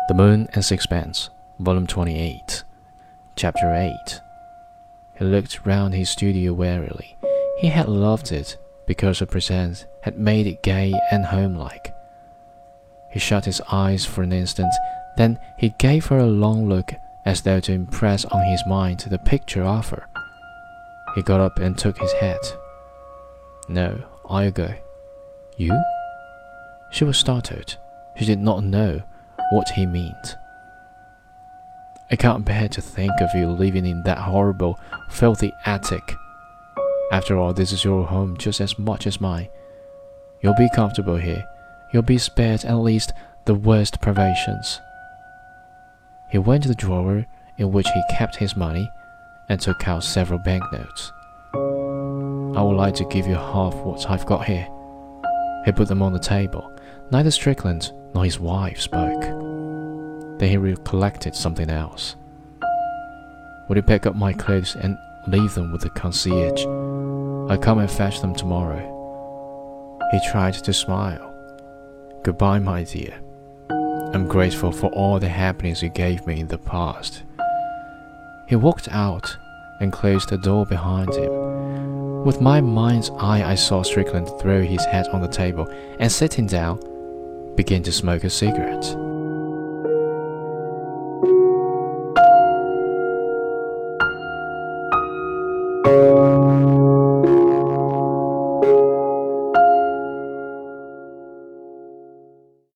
The Moon and Sixpence, Volume 28, Chapter 8. He looked round his studio wearily. He had loved it because her presence had made it gay and homelike. He shut his eyes for an instant, then he gave her a long look as though to impress on his mind the picture of her. He got up and took his hat. "No, I'll go." "You?" She was startled. She did not know what he meant. "I can't bear to think of you living in that horrible, filthy attic. After all, this is your home just as much as mine. You'll be comfortable here. You'll be spared at least the worst privations." He went to the drawer in which he kept his money and took out several banknotes. "I would like to give you half what I've got here." He put them on the table. Neither Strickland nor his wife spoke. Then he recollected something else. "Will you pick up my clothes and leave them with the concierge? I'll come and fetch them tomorrow." He tried to smile. "Goodbye, my dear. I'm grateful for all the happiness you gave me in the past." He walked out and closed the door behind him. With my mind's eye, I saw Strickland throw his hat on the table and, sitting down, begin to smoke a cigarette.